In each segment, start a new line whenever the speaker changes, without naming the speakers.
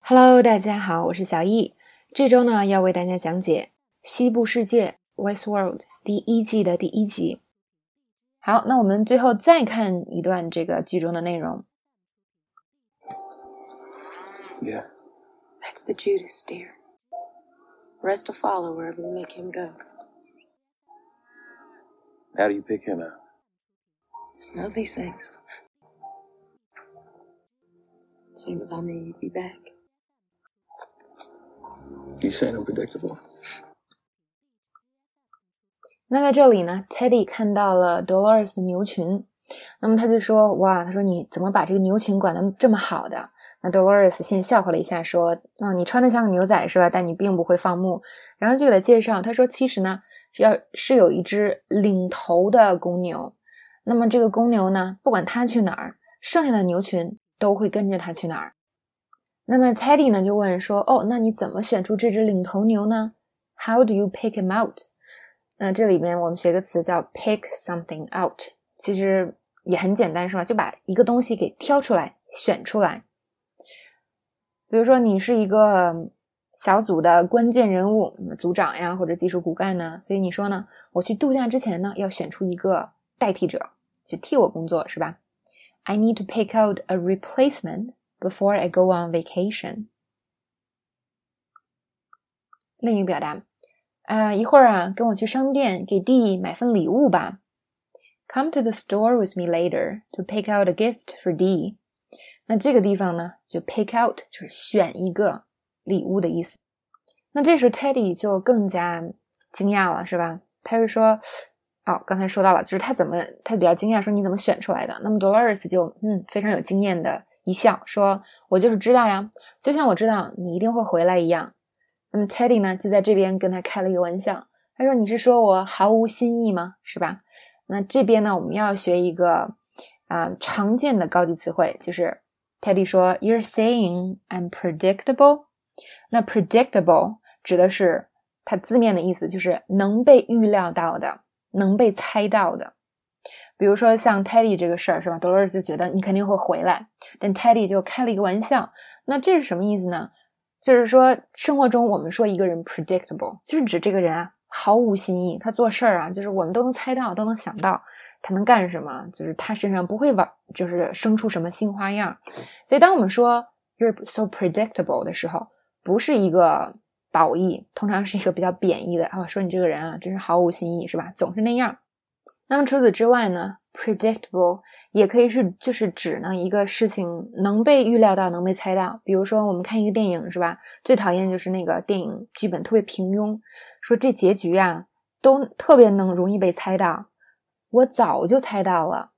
Hello， 大家好，我是小易。这周呢，要为大家讲解《西部世界》Westworld 第一季的第一集。好，那我们最后再看一段这个剧中的内容。
Yeah.
That's the Judas, dear. Rest will follow wherever we make him go.
How do you pick him out?
Just know these things. Same as I knew you'd be back.
You saying I'm predictable?
那在这里呢 Teddy 看到了 Dolores 的牛群，那么他就说，哇，他说你怎么把这个牛群管得这么好的？那 Dolores 先笑话了一下说，你穿得像个牛仔是吧？但你并不会放牧。然后就给他介绍，他说其实呢是有一只领头的公牛，那么这个公牛呢，不管他去哪儿，剩下的牛群都会跟着他去哪儿。那么 Teddy 呢就问说，那你怎么选出这只领头牛呢？ How do you pick him out？ 那这里面我们学个词叫 pick something out， 其实也很简单是吧？就把一个东西给挑出来选出来。比如说你是一个小组的关键人物，组长呀或者技术骨干呢，所以你说呢，我去度假之前呢要选出一个代替者去替我工作是吧？ I need to pick out a replacement before I go on vacation。 另一个表达，一会儿啊跟我去商店给 D 买份礼物吧。 Come to the store with me later to pick out a gift for D。 那这个地方呢就 pick out 就是选一个礼物的意思。那这时候 Teddy 就更加惊讶了是吧？他就说刚才说到了，就是他比较惊讶说你怎么选出来的。那么 Dolores 就非常有经验的一笑说，我就是知道呀，就像我知道你一定会回来一样。那么 Teddy 呢就在这边跟他开了一个玩笑，他说你是说我毫无新意吗？是吧？那这边呢我们要学一个常见的高级词汇，就是 Teddy 说 You're saying I'm predictable。 那 predictable 指的是它字面的意思就是能被预料到的，能被猜到的。比如说像 Teddy 这个事儿是吧， Dolores 就觉得你肯定会回来，但 Teddy 就开了一个玩笑。那这是什么意思呢？就是说生活中我们说一个人 predictable 就是指这个人毫无新意，他做事儿就是我们都能猜到，都能想到他能干什么，就是他身上不会就是生出什么新花样。所以当我们说 you're so predictable 的时候，不是一个褒义，通常是一个比较贬义的说你这个人真是毫无新意是吧，总是那样。那么除此之外呢， predictable 也可以是就是指呢一个事情能被预料到，能被猜到。比如说我们看一个电影是吧，最讨厌就是那个电影剧本特别平庸，说这结局都特别容易被猜到，我早就猜到了。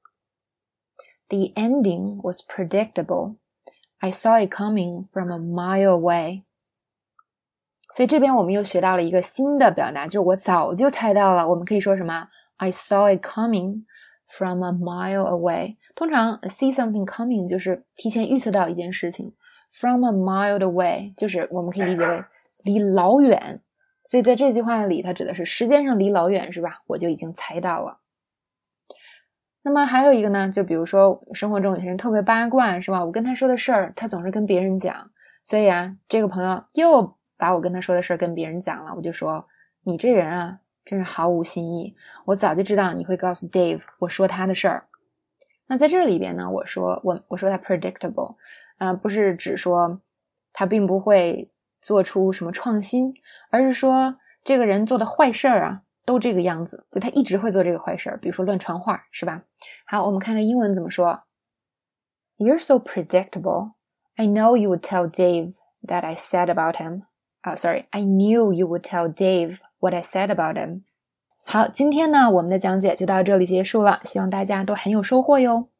The ending was predictable. I saw it coming from a mile away。 所以这边我们又学到了一个新的表达，就是我早就猜到了。我们可以说什么？ I saw it coming from a mile away。 通常 see something coming 就是提前预测到一件事情， from a mile away 就是我们可以理解为离老远。所以在这句话里它指的是时间上离老远是吧，我就已经猜到了。那么还有一个呢，就比如说生活中有些人特别八卦是吧，我跟他说的事儿他总是跟别人讲，所以这个朋友又把我跟他说的事儿跟别人讲了，我就说你这人真是毫无新意，我早就知道你会告诉 Dave 我说他的事儿。那在这里边呢，我说他 predictable 不是指说他并不会做出什么创新，而是说这个人做的坏事儿都这个样子，就他一直会做这个坏事儿，比如说乱传话是吧。好，我们看看英文怎么说。 You're so predictable. I know you would tell Dave that I said about him. I knew you would tell Dave what I said about him. 好，今天呢我们的讲解就到这里结束了，希望大家都很有收获哟。